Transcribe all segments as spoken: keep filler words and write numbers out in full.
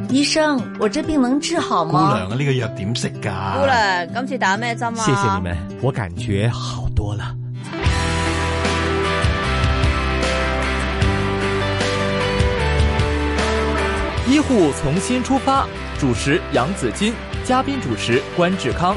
醫生，我這病能治好嗎？ 姑娘啊，呢個藥點食㗎？ 姑娘，今次打咩針啊？ 謝謝你們，我感覺好多了。醫護從新出發，主持楊子矜，嘉賓主持關志康。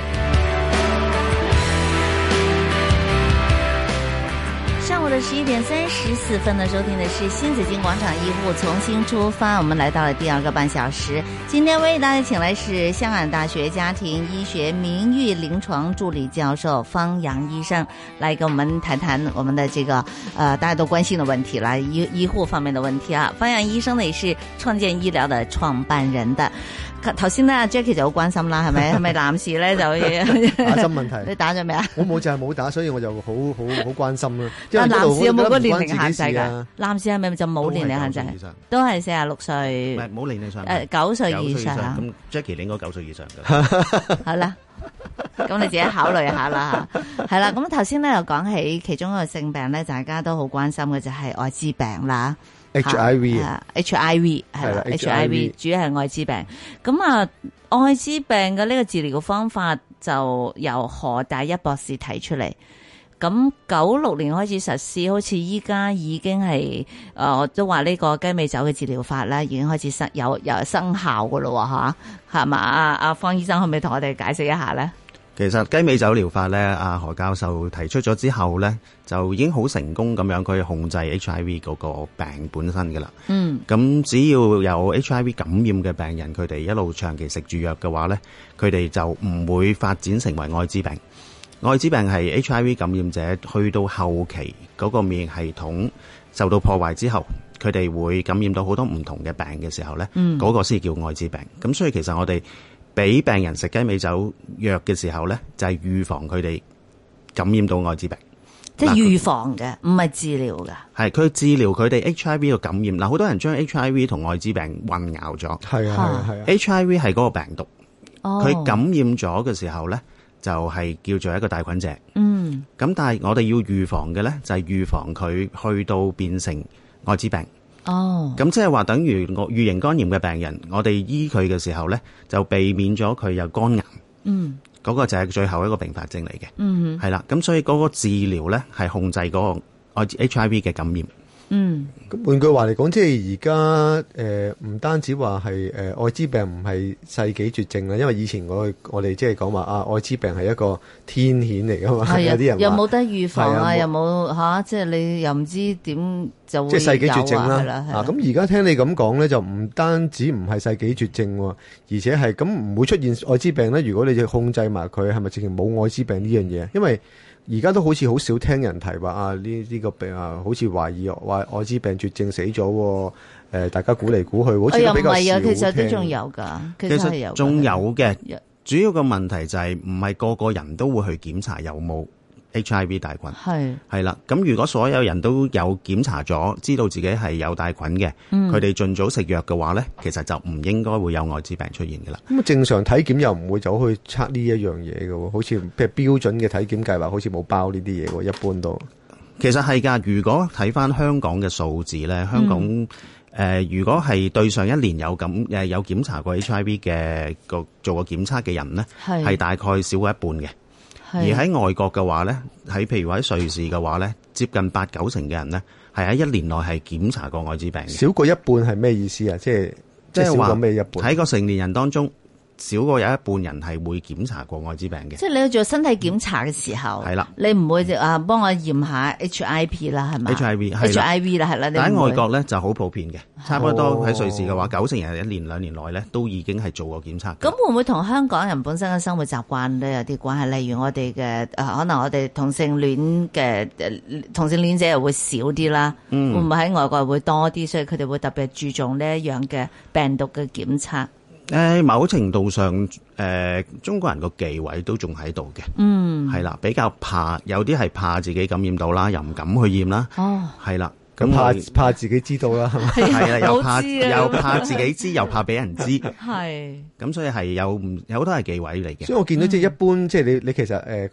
上午的十一點三十四分呢，收聽的是新紫荊廣場醫護從新出發，我們來到了第二個半小時。今天為大家請來是香港大學家庭醫學名譽臨床助理教授方陽醫生，來跟我們談談我們的這個呃大家都關心的問題啦，醫醫護方面的問題啊。方陽醫生呢也是創建醫療的創辦人的。頭先咧 Jackie 就好關心啦，係咪？係咪男士咧就打針問題？ 你打咗未啊？ 我冇就係冇打，所以我就好好好關心啦。 但男士有冇個年齡限制㗎？男士係咪就冇年齡限制？都係四十六歲。 唔係冇年齡上。 誒九歲以上啊。 咁 Jackie 你應該九歲以上㗎。 好啦，咁你自己考慮下啦嚇。係啦，咁頭先咧又講起其中一個性病咧，大家都好關心嘅就係愛滋病啦。 H I V 啊 ，H I V 係啦 ，H I V 主要係愛滋病。咁啊，愛滋病嘅呢個治療方法就由何大一博士提出嚟。咁九六年開始實施，好似依家已經係誒，我都話呢個雞尾酒嘅治療法咧，已經開始生有有生效噶咯，吓係嘛？阿阿方醫生可唔可以同我哋解釋一下咧？ 其實雞尾酒療法咧，阿何教授提出咗之後咧，就已經好成功咁樣佢控制 H I V 嗰個病本身噶啦。嗯，咁只要有 H I V 感染嘅病人，佢哋一路長期食住藥嘅話咧，佢哋就唔會發展成為愛滋病。愛滋病係 H I V 感染者去到後期嗰個免疫系統受到破壞之後，佢哋會感染到好多唔同嘅病嘅時候咧，嗰、嗯、個先叫愛滋病。咁所以其實我哋俾病人食雞尾酒藥嘅時候咧，就係、是、預防佢哋感染到愛滋病。 即係預防嘅，唔係治療嘅。 係佢治療佢哋 H I V 嘅感染。嗱，好多人將 H I V 同愛滋病混淆咗。 係啊係啊。 H I V 係嗰個病毒，佢、哦、感染咗嘅時候咧，就係、是、叫做一個帶菌者。嗯。咁但係我哋要預防嘅咧，就係、是、預防佢去到變成愛滋病。哦，咁即係話等於我乙型肝炎嘅病人，我哋醫佢嘅時候咧，就避免咗佢有肝癌。嗯，嗰、那個就係最後一個併發症嚟嘅。嗯，係啦，咁所以嗰個治療咧係控制嗰個 H I V 嘅感染。 嗯，咁換句話嚟講，即係而家誒唔單止話係誒愛滋病唔係世紀絕症啦，因為以前我我哋即係講話啊愛滋病係一個天譴嚟噶嘛，係有啲人話又冇得預防啊，又冇吓，即係你又唔知點就會有啊， 即係世紀絕症啦。啊，咁而家聽你咁講咧，就唔單止唔係世紀絕症，而且係咁唔會出現愛滋病咧。如果你就控制埋佢，係咪直情冇愛滋病呢樣嘢？因為而家都好似好少聽人提話啊！呢呢、這個病啊，好似懷疑話愛滋病絕症死咗，誒、呃，大家估嚟估去，好似都比較少聽。哎呀，唔係啊，其實都仲有噶， 其實係有， 仲有嘅。主要個問題就係唔係個個人都會去檢查有冇 H I V 帶菌。係係啦，咁如果所有人都有檢查咗，知道自己係有帶菌嘅，佢哋盡早食藥嘅話咧，其實就唔應該會有愛滋病出現㗎啦。 咁啊，正常體檢又唔會走去測呢一樣嘢嘅喎，好似譬如標準嘅體檢計劃，好似冇包呢啲嘢喎，一般都。 其實係㗎，如果睇翻香港嘅數字咧，香港誒、嗯呃，如果係對上一年有咁誒有檢查過 H I V 嘅個做過檢測嘅人咧，係大概少過一半嘅。而喺外國嘅話咧，喺譬如話喺瑞士嘅話咧，接近八九成嘅人咧，係喺一年內係檢查過愛滋病嘅。 少過一半係咩意思啊？即係即係少過咩一半？ 喺個成年人當中，少過有一半人係會檢查過愛滋病嘅。 即係你去做身體檢查嘅時候，係、嗯、啦，你唔會啊幫我驗下 H I V 啦，係咪 ？H I V，H I V 啦，係啦。 但喺外國咧就好普遍嘅，差不多喺瑞士嘅話，九成人一年兩年內咧都已經係做過檢測。 咁會唔會同香港人本身嘅生活習慣都有啲關係？例如我哋嘅誒，可能我哋同性戀嘅同性戀者又會少啲啦，嗯、會唔會喺外國會多啲？所以佢哋會特別注重呢一樣嘅病毒嘅檢測。 誒，某程度上，誒、呃，中國人個忌諱都仲喺度嘅，嗯，係啦，比較怕，有啲係怕自己感染到啦，又唔敢去驗啦，哦，係啦， 咁怕怕自己知道啦，係咪？ 係啦，又怕又怕自己知，又怕俾人知， 係， 咁所以係有唔有好多係忌諱嚟嘅。 所以我見到即係一般，嗯、即係你你其實誒嗰啲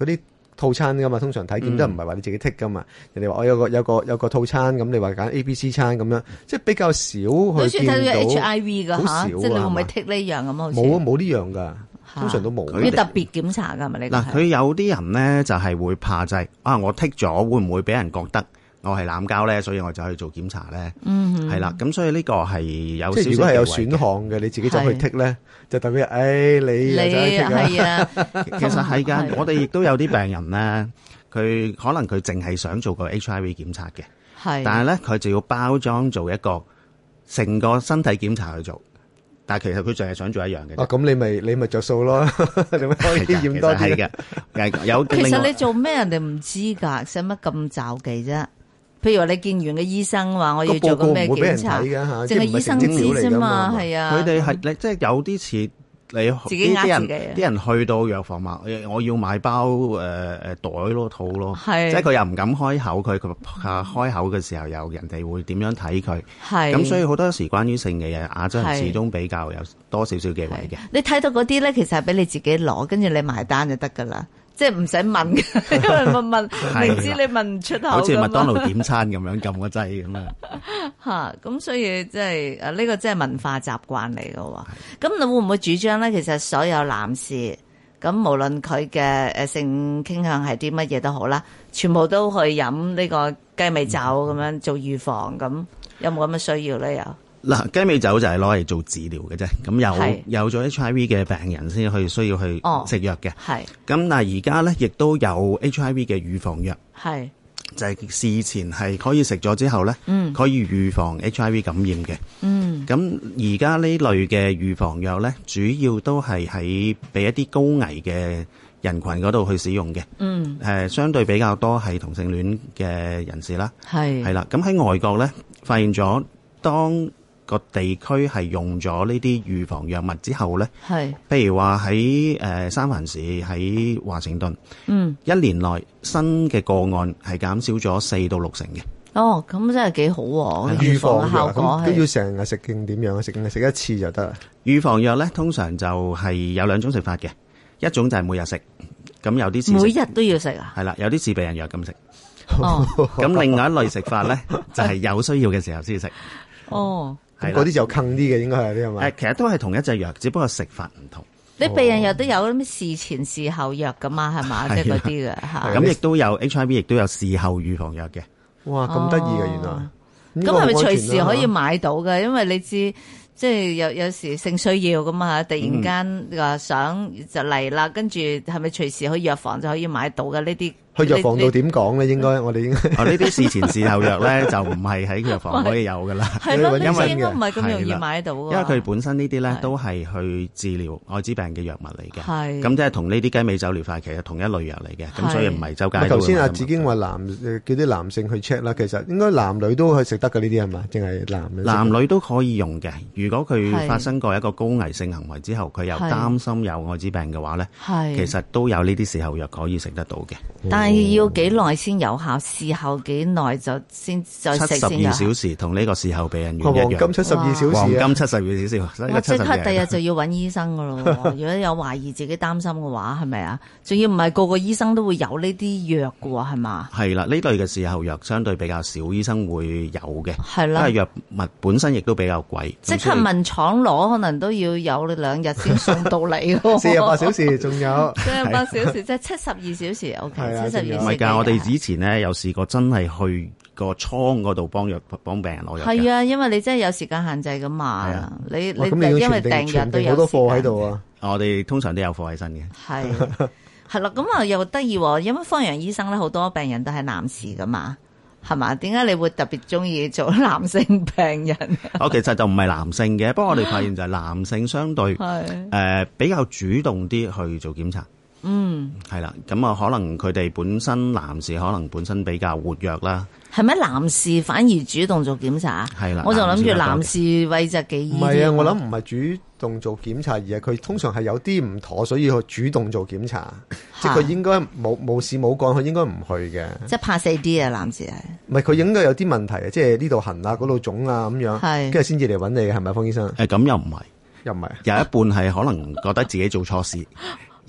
套餐噶嘛，通常體檢都唔係話你自己剔噶嘛。嗯、人哋話我有個有個有個套餐，咁你話揀 A、B、C 餐咁樣，即係比較少去見到。好似睇到 H I V 噶嚇，即係你會唔會剔呢樣咁好似？冇啊，冇呢樣噶，通常都冇。 佢特別檢查㗎，係咪呢個？ 嗱，佢有啲人咧就係會怕就係啊，我剔咗會唔會俾人覺得我係濫交咧？所以我就去做檢查咧。嗯，係啦，咁所以呢個係有少少。即係如果係有選項嘅，你自己走去剔咧，就代表誒你你係啊。 其實係㗎，我哋亦都有啲病人咧，佢可能佢淨係想做個 H I V 檢查嘅，係，但係咧佢就要包裝做一個成個身體檢查去做。但係其實佢淨係想做一樣嘅。 哦，咁你咪你咪着數咯，你咪可以驗多啲嘅。有其實你做咩人哋唔知㗎，使乜咁罩忌啫？譬如話你見完嘅醫生話我要做個咩檢查，淨係醫生知啫嘛，係啊。 佢哋係你即係有啲似你自己呃自己。 啲人去到藥房話我要買包誒誒袋咯套咯，即係佢又唔敢開口，佢佢開口嘅時候又人哋會點樣睇佢？係咁，所以好多時關於性嘅嘢，亞洲人始終比較有多少少忌諱嘅。 你睇到嗰啲咧，其實係俾你自己攞，跟住你埋單就得噶啦。即係唔使問，因為問問明知你問唔出口， 好似麥當勞點餐咁樣撳個掣咁啊！ 嚇，咁所以即係誒呢個真係文化習慣嚟嘅喎。咁你會唔會主張咧？其實所有男士咁，無論佢嘅誒性傾向係啲乜嘢都好啦，全部都去飲呢個雞尾酒咁樣做預防，咁有冇咁嘅需要咧？有。 嗱，雞尾酒就係攞嚟做治療嘅啫，咁有有咗 H I V 嘅病人先去需要去食藥嘅。係、哦，咁但係而家咧亦都有 H I V 嘅預防藥，係就係、是、事前係可以食咗之後咧，嗯，可以預防 H I V 感染嘅。嗯，咁而家呢類嘅預防藥咧，主要都係喺俾一啲高危嘅人群嗰度去使用嘅。嗯，誒，相對比較多係同性戀嘅人士啦。係係啦，咁喺外國咧發現咗當個地區係用咗呢啲預防藥物之後咧，係，譬如話喺誒三藩市、喺華盛頓，嗯，一年內新嘅個案係減少咗四到六成嘅。 哦，咁真係幾好喎！ 預防嘅效果都要成日食定點樣啊？食食一次就得啦。 預防藥咧，通常就係有兩種食法嘅，一種就係每日食，咁有啲每日都要食啊？ 係啦，有啲似避孕藥咁食。哦，咁另外一類食法咧，就係有需要嘅時候先食。 哦。 咁嗰啲就坑啲嘅，應該係啲係咪？ 誒，其實都係同一隻藥，只不過食法唔同。 你避孕藥都有咩事前事後藥噶嘛？係嘛，即係嗰啲嘅嚇。 咁亦都有 H I V， 亦都有事後預防藥嘅。 哇，咁得意嘅原來。 咁係咪隨時可以買到嘅？因為你知。即係有有時性需要咁啊，突然間話想就嚟啦，跟住係咪隨時去藥房就可以買到嘅呢啲？ 去藥房度點講咧？應該我哋應該。 哦，呢啲事前事後藥咧就唔係喺藥房可以有噶啦。 係咯，因為應該唔係咁容易買到。因為佢本身呢啲咧都係去治療愛滋病嘅藥物嚟嘅。係。咁即係同呢啲雞尾酒療法其實同一類藥嚟嘅。咁所以唔係周街都。 頭先阿子矜話男叫啲男性去 check 啦，其實應該男女都可以食得嘅呢啲係嘛？淨係男女。 男女都可以用嘅。如果佢發生過一個高危性行為之後，佢又擔心有愛滋病嘅話咧，其實都有呢啲事後藥可以食得到嘅。 但係要幾耐先有效？事後幾耐就先再食先有效？ 七十二小時同呢個事後避孕藥一樣。 黃金七十二小時， 黃金七十二小時。 我即刻第日就要揾醫生噶咯。如果有懷疑自己擔心嘅話，係咪啊？仲要唔係個個醫生都會有呢啲藥嘅喎，係嘛？ 係啦，呢類嘅事後藥相對比較少，醫生會有嘅。係啦，因為藥物本身亦都比較貴。 即刻問廠攞，可能都要有兩日先送到嚟。 四十八小時仲有。 四十八小時即係七十二小時。O K，七十二。 唔係㗎，我哋之前咧有試過真係去個倉嗰度幫藥幫病人攞藥。係啊，因為你真係有時間限制㗎嘛。係啊，你你因為訂日都有好多貨喺度啊。 我哋通常都有貨喺身嘅。 係係啦，咁啊又得意喎，因為方洋醫生咧好多病人都係男士㗎嘛。係嘛？點解你會特別中意做男性病人？ 我其實就唔係男性嘅，不過我哋發現就係男性相對誒、呃、比較主動啲去做檢查。嗯，係啦，咁啊可能佢哋本身男士可能本身比較活躍啦。 係咪男士反而主動做檢查？係啦，我就諗住男士諱疾忌醫。 唔係啊，我諗唔係主動做檢查，而係佢通常係有啲唔妥，所以去主動做檢查。即係佢應該冇冇事冇幹，佢應該唔去嘅。 即係怕死啲啊，男士係。 唔係佢應該有啲問題啊，即係呢度痕啊，嗰度腫啊咁樣，跟住先至嚟揾你嘅，係咪方醫生？ 誒咁又唔係， 又唔係， 有一半係可能覺得自己做錯事。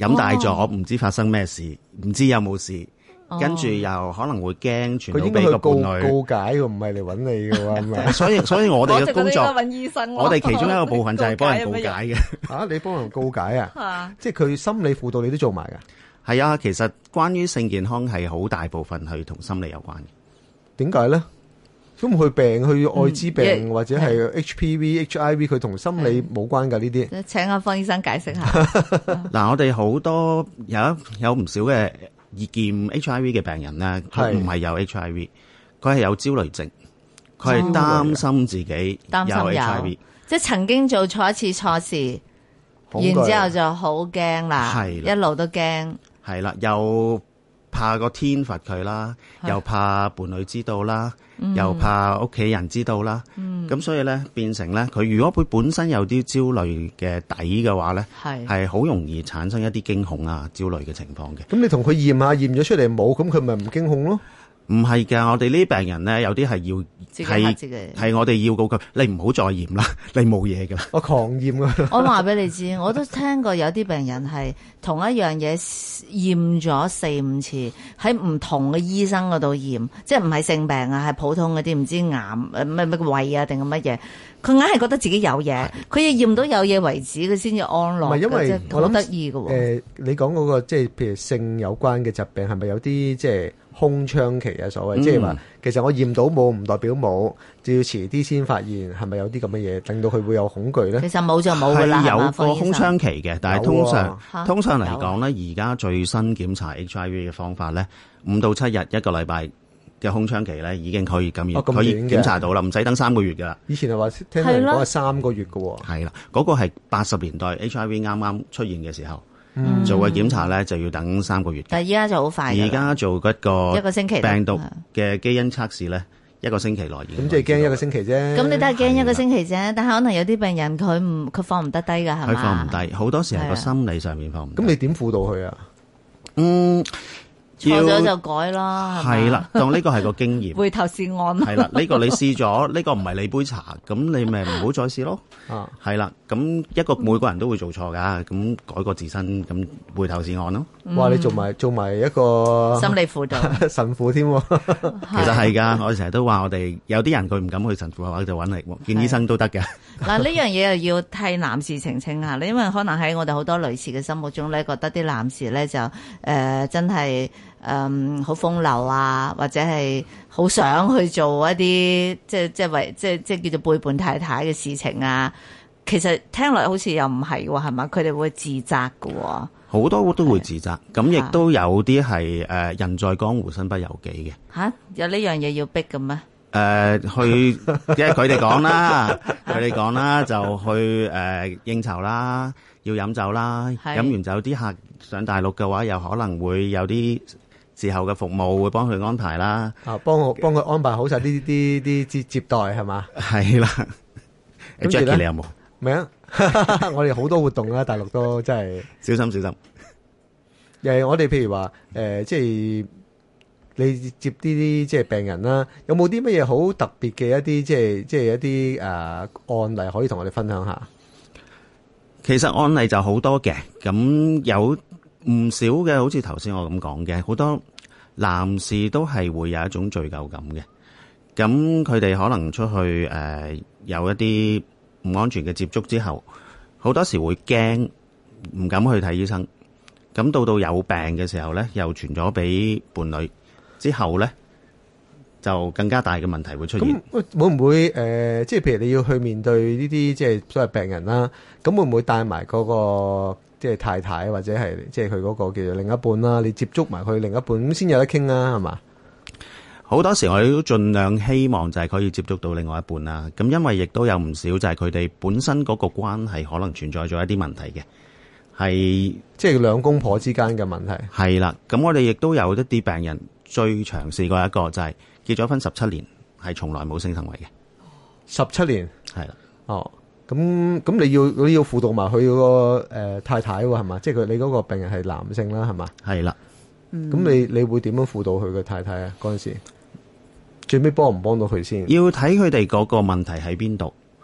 飲大咗，唔知發生咩事，唔知有冇事。跟住又可能會驚傳到俾個伴侶， 告解喎，唔係嚟揾你嘅喎，係咪？ 所以所以我哋嘅工作， 我哋其中一個部分就係幫人告解嘅。 嚇，你幫人告解啊？即係佢心理輔導你都做埋㗎？ 係啊，其實關於性健康係好大部分係同心理有關嘅。點解咧？咁佢病，佢愛滋病、嗯、或者係 H P V、H I V， 佢同心理冇關㗎呢啲。 請阿方醫生解釋下。 嗱，我哋好多有有唔少嘅易驗 H I V 嘅病人咧，佢唔係有 H I V， 佢係有焦慮症，佢係擔心自己有 H I V， 即係曾經做錯一次錯事，然之後就好驚啦，一路都驚。 係啦，又怕個天罰佢啦，又怕伴侶知道啦，又怕屋企人知道啦。咁、嗯、所以咧，變成咧，佢如果佢本身有啲焦慮嘅底嘅話咧，係好容易產生一啲驚恐啊、焦慮嘅情況嘅。 咁你同佢驗下，驗咗出嚟冇，咁佢咪唔驚恐咯？ 唔係㗎，我哋呢啲病人咧，有啲係要係係我哋要告佢，你唔好再驗啦，你冇嘢㗎啦。 我狂驗啊！ 我話俾你知，我都聽過有啲病人係同一樣嘢驗咗四五次，喺唔同嘅醫生嗰度驗，即係唔係性病啊，係普通嗰啲唔知癌咩咩胃啊定係乜嘢，佢硬係覺得自己有嘢，佢要驗到有嘢為止，佢先至安樂。 唔係因為我諗好得意㗎喎。 誒，你講嗰個即係譬如性有關嘅疾病，係咪有啲即係空窗期啊？所謂、嗯、即係話，其實我驗到冇唔代表冇，就要遲啲先發現，係咪有啲咁嘅嘢，令到佢會有恐懼咧？ 其實冇就冇㗎啦， 係有個空窗期嘅，但係通常、 啊、 通常嚟講咧，而家最新檢查 H I V 嘅方法咧，五到七日一個禮拜嘅空窗期咧，已經可以咁、哦、可以檢查到啦，唔使等三個月㗎啦。 以前係話聽人講係三個月㗎喎。 係啦，嗰、嗰個係八十年代 H I V 啱啱出現嘅時候。嗯、做個檢查咧就要等三個月， 但係依家就好快。而家做一個一個星期病毒嘅基因測試咧，一個星期內已經。 咁即係驚一個星期啫。 咁你都係驚一個星期啫，但係可能有啲病人佢唔佢放唔得低㗎，係嘛？ 佢放唔低，好多時係個心理上面放唔低。 咁你點輔導佢啊？ 嗯。 錯咗就改啦， 係啦，當呢個係個經驗， 回頭是岸。 係啦，呢、呢個你試咗，呢、呢個唔係你杯茶，咁你咪唔好再試咯。啊，係啦，咁一個每個人都會做錯噶，咁改過自身，咁回頭是岸咯。 哇，你做埋做埋一個心理輔導神父添， 其實係噶，我成日都話我哋有啲人佢唔敢去神父嘅話，就揾嚟見醫生都得嘅。 嗱，呢樣嘢又要替男士澄清下，因為可能喺我哋好多女士嘅心目中咧，覺得啲男士咧就誒、呃、真係。誒好風流啊，或者係好想去做一啲即係即係為即係即係叫做背叛太太嘅事情啊。其實聽落好似又唔係喎，係嘛？佢哋會自責㗎喎，好多都會自責。咁亦都有啲係誒人在江湖身不由己嘅。 嚇、啊，有呢樣嘢要逼嘅咩？誒、 呃，去即係佢哋講啦，佢哋講啦，就去誒、呃、應酬啦，要飲酒啦，飲完酒啲客上大陸嘅話，又可能會有啲。事後嘅服務會幫佢安排啦， 啊，幫我幫佢安排好晒呢啲啲接接待係嘛？ 係啦。Jackie 你有冇？ 咩啊？我哋好多活動啦，大陸都真係小心小心。 誒，我哋譬如話誒、呃，即係你接呢啲即係病人啦，有冇啲乜嘢好特別嘅一啲即係即係一啲誒、呃、案例可以同我哋分享下？ 其實案例就好多嘅，咁有唔少嘅，好似頭先我咁講嘅，好多。男士都係會有一種罪疚感嘅，咁佢哋可能出去誒、呃、有一啲唔安全嘅接觸之後，好多時會驚，唔敢去睇醫生。咁到到有病嘅時候咧，又傳咗俾伴侶，之後咧就更加大嘅問題會出現。 咁會唔會誒、呃，即係譬如你要去面對呢啲即係所謂病人啦，咁會唔會帶埋嗰個？即係太太或者係即係佢嗰個叫做另一半啦，你接觸埋佢另一半咁先有得傾啊，係嘛？ 好多時我哋都盡量希望就係可以接觸到另外一半啦。咁因為亦都有唔少就係佢哋本身嗰個關係可能存在咗一啲問題嘅，係即係兩公婆之間嘅問題。 係啦，咁我哋亦都有一啲病人最長試過一個就係結咗婚十七年，係從來冇性行為嘅。 十七年係啦， 哦。咁咁你要你要輔導埋佢嗰個誒太太喎，係嘛？即係佢你嗰個病人係男性啦，係嘛？ 係啦。 咁你你會點樣輔導佢嘅太太啊？嗰陣時最尾幫唔幫到佢先？ 要睇佢哋嗰個問題喺邊度。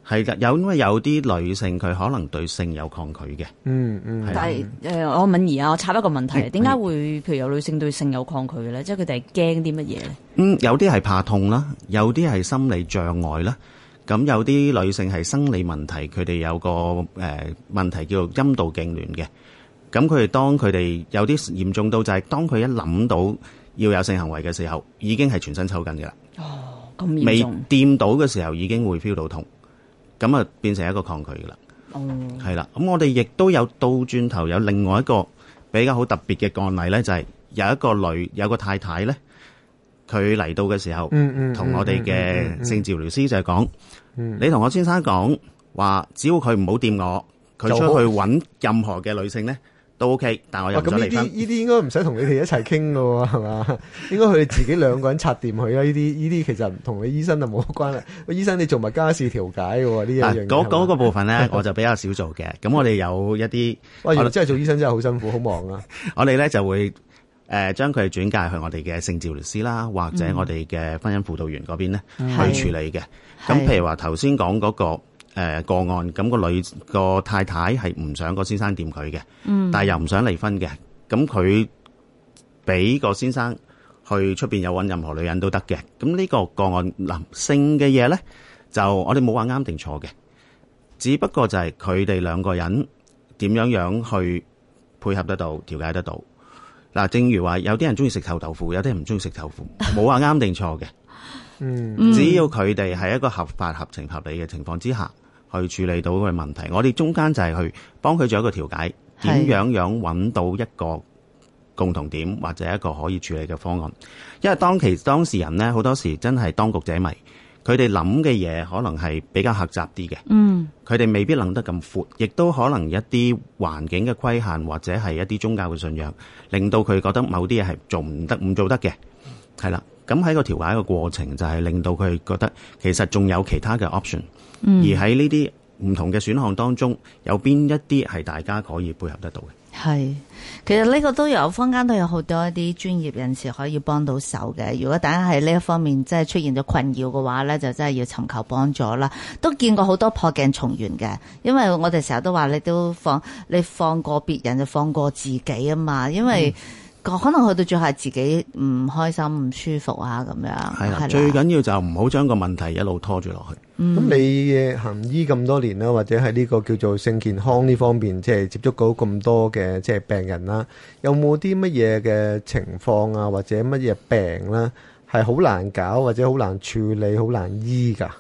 係㗎，有因為有啲女性佢可能對性有抗拒嘅。 嗯嗯。 但係誒，我敏儀啊，我插一個問題，點解會譬如有女性對性有抗拒嘅咧？即係佢哋係驚啲乜嘢咧？ 嗯，有啲係怕痛啦，有啲係心理障礙啦。咁有啲女性係生理問題，佢哋有個誒、呃、問題叫做陰道痙攣嘅。咁佢哋當佢哋有啲嚴重到就係當佢一諗到要有性行為嘅時候，已經係全身抽筋嘅啦。 哦，咁嚴重。 未掂到嘅時候已經會 feel 到痛，咁啊變成一個抗拒嘅啦。 哦， 係啦。咁我哋亦都有倒轉頭有另外一個比較好特別嘅案例咧，就係、是、有一個女有個太太咧。佢嚟到嘅時候，同、嗯嗯、我哋嘅性治療師就係講、嗯嗯，你同我先生講話，只要佢唔好掂我，佢出去揾任何嘅女性咧都 OK，但我又唔想離婚。咁呢啲呢啲應該唔使同你哋一齊傾㗎喎，係嘛？應該佢哋自己兩個人拆掂佢啦。呢啲呢啲其實同你醫生就冇關啦。個醫生你做埋家事調解嘅喎，呢一樣嘢。嗰嗰個部分咧，我就比較少做嘅。咁我哋有一啲， 哇！原來真係做醫生真係好辛苦，好忙啊。 我哋咧就會。誒、呃、將佢轉介去我哋嘅性治療師啦，或者我哋嘅婚姻輔導員嗰邊咧、嗯、去處理嘅。咁譬如話頭先講嗰個誒、呃、個案，咁、個女個太太係唔想個先生掂佢嘅，但係又唔想離婚嘅。咁佢俾個先生去出邊有揾任何女人都得嘅。咁呢個個案嗱、呃、性嘅嘢咧，就我哋冇話啱定錯嘅，只不過就係佢哋兩個人點樣樣去配合得到、調解得到。嗱，正如話有啲人中意食臭豆腐，有啲人唔中意食豆腐，冇話啱定錯嘅。嗯，只要佢哋係一個合法、合情、合理嘅情況之下，去處理到個問題，我哋中間就係去幫佢做一個調解，點樣樣揾到一個共同點或者一個可以處理嘅方案。因為當其當事人呢，好多時真係當局者迷。佢哋諗嘅嘢可能係比較狹窄啲嘅，嗯，佢哋未必諗得咁闊，亦都可能一啲環境嘅規限或者係一啲宗教嘅信仰，令到佢覺得某啲嘢係做唔得、唔做得嘅，係啦。咁喺個調解嘅過程就係令到佢覺得其實仲有其他嘅 option，嗯，而喺呢啲唔同嘅選項當中，有邊一啲係大家可以配合得到嘅。 係，其實呢個都有坊間都有好多一啲專業人士可以幫到手嘅。如果大家喺呢一方面即係出現咗困擾嘅話咧，就真係要尋求幫助啦。都見過好多破鏡重圓嘅，因為我哋成日都話你都放你放過別人就放過自己啊嘛，因為。嗯可能去到最後係自己唔開心、唔舒服啊咁樣。係啦， 最緊要就唔好將個問題一路拖住落去。咁、 嗯、你行醫咁多年啦，或者喺呢個叫做性健康呢方面，即係接觸到咁多嘅即係病人啦，有冇啲乜嘢嘅情況啊，或者乜嘢病啦，係好難搞或者好難處理、好難醫㗎？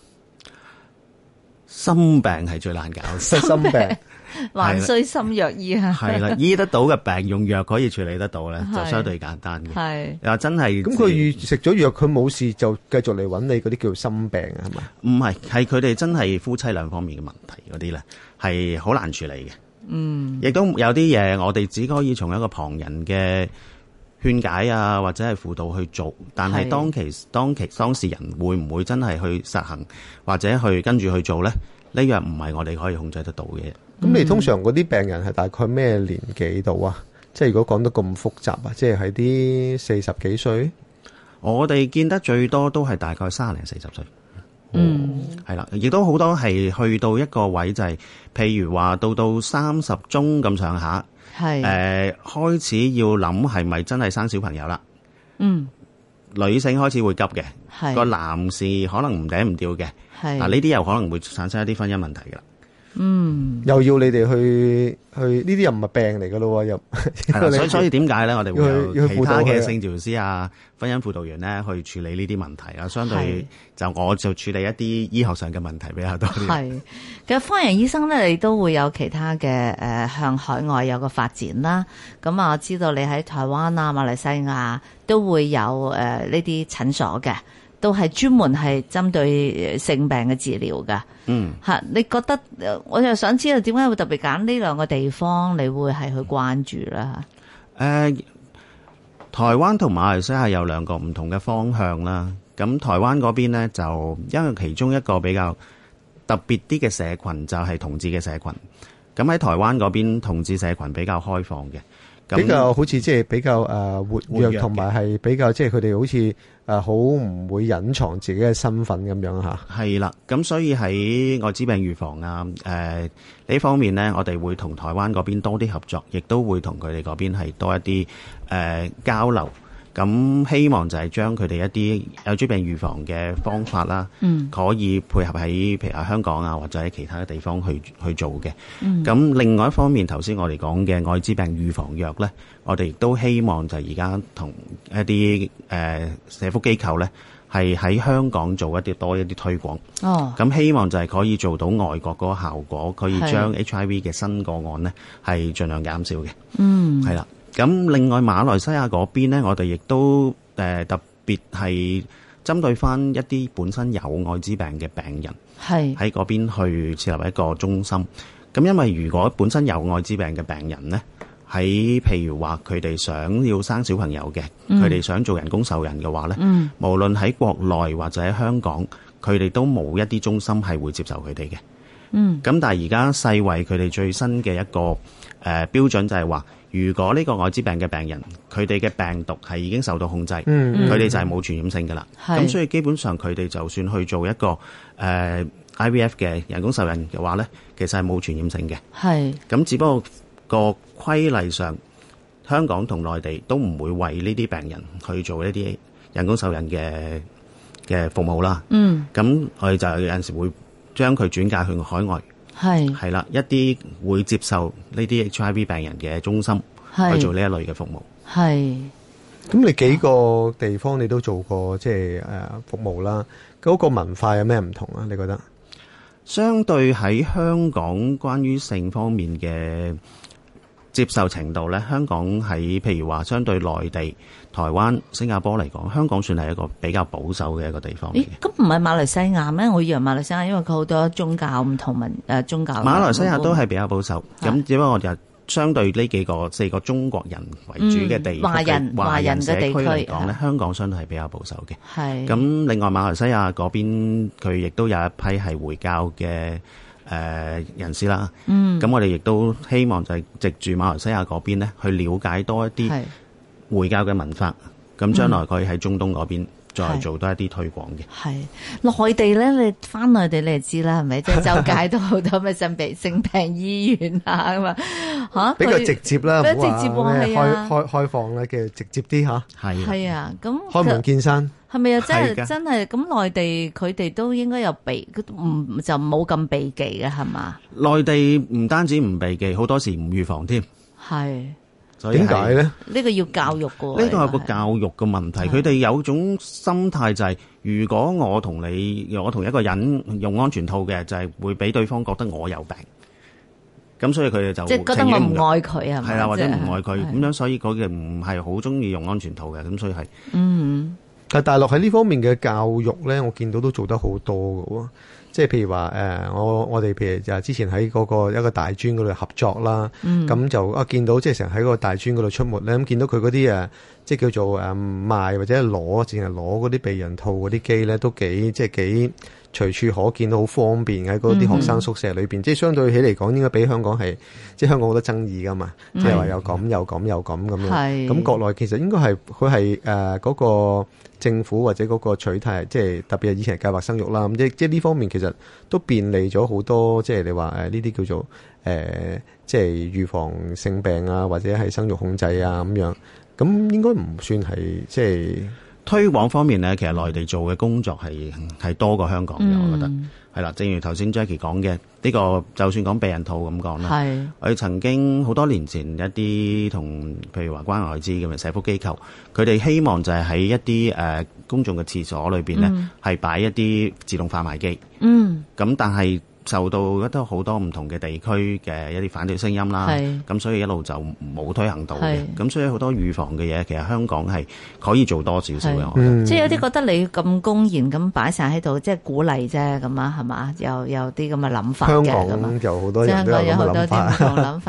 心病係最難搞嘅， 心病。 還需心藥醫啊！ 係啦，醫得到嘅病用藥可以處理得到咧，就相對簡單嘅。係又真係咁，佢食咗藥佢冇事就繼續嚟揾你嗰啲叫心病啊？係咪？ 唔係，係佢哋真係夫妻兩方面嘅問題嗰啲咧，係好難處理嘅。嗯，亦都有啲嘢我哋只可以從一個旁人嘅勸解啊，或者係輔導去做，但係當其當其當事人會唔會真係去實行或者去跟住去做咧？呢樣唔係我哋可以控制得到嘅。 咁你通常嗰啲病人係大概咩年紀度啊？即係如果講得咁複雜啊，即係喺啲四十幾歲？ 我哋見得最多都係大概三零四十歲。嗯，係啦，亦都好多係去到一個位就係、是，譬如話到到三十中咁上下，係誒、呃、開始要諗係咪真係生小朋友啦？嗯，女性開始會急嘅，係個男士可能唔嗲唔吊嘅，係嗱呢啲又可能會產生一啲婚姻問題噶啦。嗯， 又要你哋去去呢啲又唔係病嚟噶咯，又係啦，所以所以點解咧？我哋會有其他嘅性治療師啊、婚姻輔導員咧去處理呢啲問題啊。相對就我就處理一啲醫學上嘅問題比較多啲。係， 其實方人醫生咧，你都會有其他嘅誒、呃、向海外有個發展啦。咁啊，我知道你喺台灣啊、馬來西亞都會有誒呢啲診所嘅。都係專門係針對性病嘅治療㗎。嗯，嚇，你覺得我就想知道點解會特別揀呢兩個地方，你會係去關注啦？ 誒、呃，台灣同馬來西亞有兩個唔同嘅方向啦。咁台灣嗰邊呢，就因為其中一個比較特別啲嘅社群就係同志嘅社群。咁喺台灣嗰邊同志社群比較開放嘅。 比較好似即係比較誒活躍，同埋係比較即係佢哋好似誒好唔會隱藏自己嘅身份咁樣嚇。 係啦，咁所以喺愛滋病預防啊誒呢方面呢，我哋會同台灣嗰邊多啲合作，亦都會同佢哋嗰邊係多一啲誒、呃、交流。咁希望就係將佢哋一啲艾滋病預防嘅方法啦，嗯，可以配合喺譬如喺香港啊，或者喺其他嘅地方去去做嘅。嗯，咁另外一方面，頭先我哋講嘅艾滋病預防藥咧，我哋亦都希望就係而家同一啲誒、呃、社福機構咧，係喺香港做一啲多一啲推廣。哦，咁希望就係可以做到外國嗰個效果，可以將 H I V 嘅新個案咧係盡量減少嘅。嗯，係啦。咁另外馬來西亞嗰邊咧，我哋亦都誒、呃、特別係針對翻一啲本身有艾滋病嘅病人，係喺嗰邊去設立一個中心。咁因為如果本身有艾滋病嘅病人咧，喺譬如話佢哋想要生小朋友嘅，佢、嗯、哋想做人工受孕嘅話咧、嗯，無論喺國內或者喺香港，佢哋都冇一啲中心係會接受佢哋嘅。嗯，咁但係而家世衛佢哋最新嘅一個誒、呃、標準就係話，如果呢個艾滋病嘅病人，佢哋嘅病毒係已經受到控制，佢、嗯、哋就係冇傳染性㗎啦。咁所以基本上佢哋就算去做一個誒、呃、I V F 嘅人工受孕嘅話咧，其實係冇傳染性嘅。係咁，只不過個規例上，香港同內地都唔會為呢啲病人去做一啲人工受孕嘅嘅服務啦。嗯，咁我哋就有陣時會將佢轉介去海外，係係啦，一啲會接受呢啲 H I V 病人嘅中心去做呢一類嘅服務。係， 咁你幾個地方你都做過即係誒服務啦，嗰個文化有咩唔同啊？你覺得？ 相對喺香港關於性方面嘅接受程度咧，香港喺譬如話相對內地、台灣、新加坡嚟講，香港算係一個比較保守嘅一個地方。 咦？咁唔係馬來西亞咩？我以為馬來西亞因為佢好多宗教唔同文誒宗教。 馬來西亞都係比較保守，咁只不過我哋相對呢幾個四個中國人為主嘅地區、嗯、華人華人嘅地區嚟講咧，香港相對係比較保守嘅。係。咁另外馬來西亞嗰邊佢亦都有一批係回教嘅。誒、呃、人士啦，嗯，咁我哋亦都希望就係藉住馬來西亞嗰邊咧，去了解多一啲回教嘅文化，咁將來佢喺中東嗰邊再做多一啲推廣嘅。係內地咧，你翻內地你就知啦，係咪？即係周街都好多咩性病性病醫院啊咁啊嚇， 比較直接啦， 比較直接喎，係啊， 開開開放咧嘅直接啲嚇， 係係啊，咁開門見山。 係咪啊？真係真係咁，內地佢哋都應該有避，唔就冇咁避忌嘅係嘛？ 內地唔單止唔避忌，好多時唔預防添。係，所以點解咧？ 呢個要教育嘅。呢個係個教育嘅問題。佢哋有種心態就係、是，如果我同你，我同一個人用安全套嘅，就係、是、會俾對方覺得我有病。咁所以佢哋就即係覺得我唔愛佢係咪？ 係啦，或者唔愛佢咁樣，所以佢哋唔係好中意用安全套嘅。咁所以係嗯。 但係大陸喺呢方面嘅教育咧，我見到都做得好多㗎喎。即係譬如話誒、呃，我我哋譬如就之前喺嗰個一個大專嗰度合作啦，咁、嗯、就啊見到即係成日喺個大專嗰度出沒咧，咁見到佢嗰啲誒即係叫做誒賣或者攞，淨係攞嗰啲避孕套嗰啲機咧，都幾即係幾隨處可見，到好方便喺嗰啲學生宿舍裏邊、嗯。即係相對起嚟講，應該比香港係即係香港好多爭議噶嘛，即係話又咁又咁又咁咁樣。咁國內其實應該係佢係誒嗰個政府或者嗰個取態，即係特別係以前計劃生育啦。咁即即係呢方面其實都便利咗好多，即係你話誒呢啲叫做誒、呃、即係預防性病啊，或者係生育控制啊咁樣。咁應該唔算係即係推廣方面咧，其實內地做嘅工作係係多過香港嘅、嗯，我覺得係啦。正如頭先 Jackie 講嘅，呢、這個就算講避孕套咁講啦，我哋曾經好多年前一啲同譬如話關愛滋咁嘅社福機構，佢哋希望就係喺一啲誒、呃、公眾嘅廁所裏邊咧，係、嗯、擺一啲自動販賣機。嗯，咁但係受到一啲好多唔同嘅地區嘅一啲反對聲音啦，咁所以一路就冇推行到嘅。咁所以好多預防嘅嘢，其實香港係可以做多少少嘅。 嗯、即係有啲覺得你咁公然咁擺晒喺度，即係鼓勵啫咁啊，係嘛？有有啲咁嘅諗法嘅。 香港有好多人都有咁嘅諗法。 香港有好多啲唔同諗法。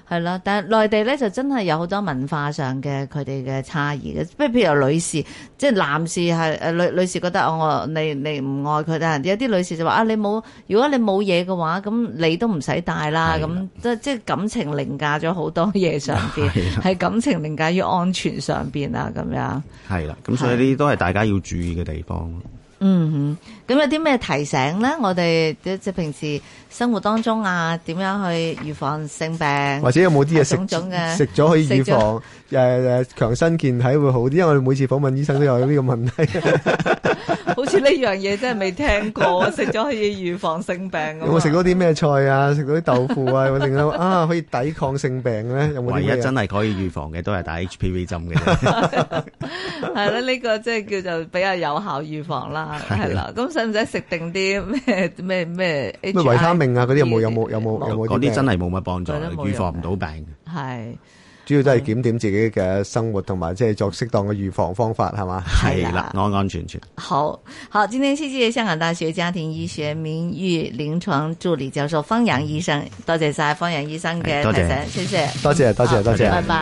係啦，但係內地咧就真係有好多文化上嘅佢哋嘅差異嘅，不如譬如女士，即係男士係誒女女士覺得我你你唔愛佢，但係有啲女士就話啊你冇，如果你冇嘢嘅話，咁你都唔使帶啦，咁即即係感情凌駕咗好多嘢上邊，係感情凌駕於安全上邊啊咁樣。係啦，咁所以呢啲都係大家要注意嘅地方。 嗯哼，咁有啲咩提醒咧？我哋即係平時生活當中啊，點樣去預防性病？ 或者有冇啲嘢食食咗可以預防誒誒強身健體會好啲？因為我哋每次訪問醫生都有呢個問題。 好似呢樣嘢真係未聽過，食咗可以預防性病。 有冇食到啲咩菜啊？食到啲豆腐啊，或者啊可以抵抗性病咧？有冇？ 唯一真係可以預防嘅都係打 H P V 針嘅啫。 係啦，呢個即係叫做比較有效預防啦。係啦，咁使唔使食定啲咩咩咩？咩維他命啊？嗰啲有冇有冇有冇有冇？ 嗰啲真係冇乜幫助，預防唔到病。 係。 主要都係檢點自己嘅生活，同埋即係作適當嘅預防方法，係嘛？ 係啦，安安全全。 好好，今天謝謝香港大學家庭醫學名譽臨床助理教授方陽醫生，多謝晒方陽醫生嘅提醒，謝謝。 多謝多謝多謝， 拜拜。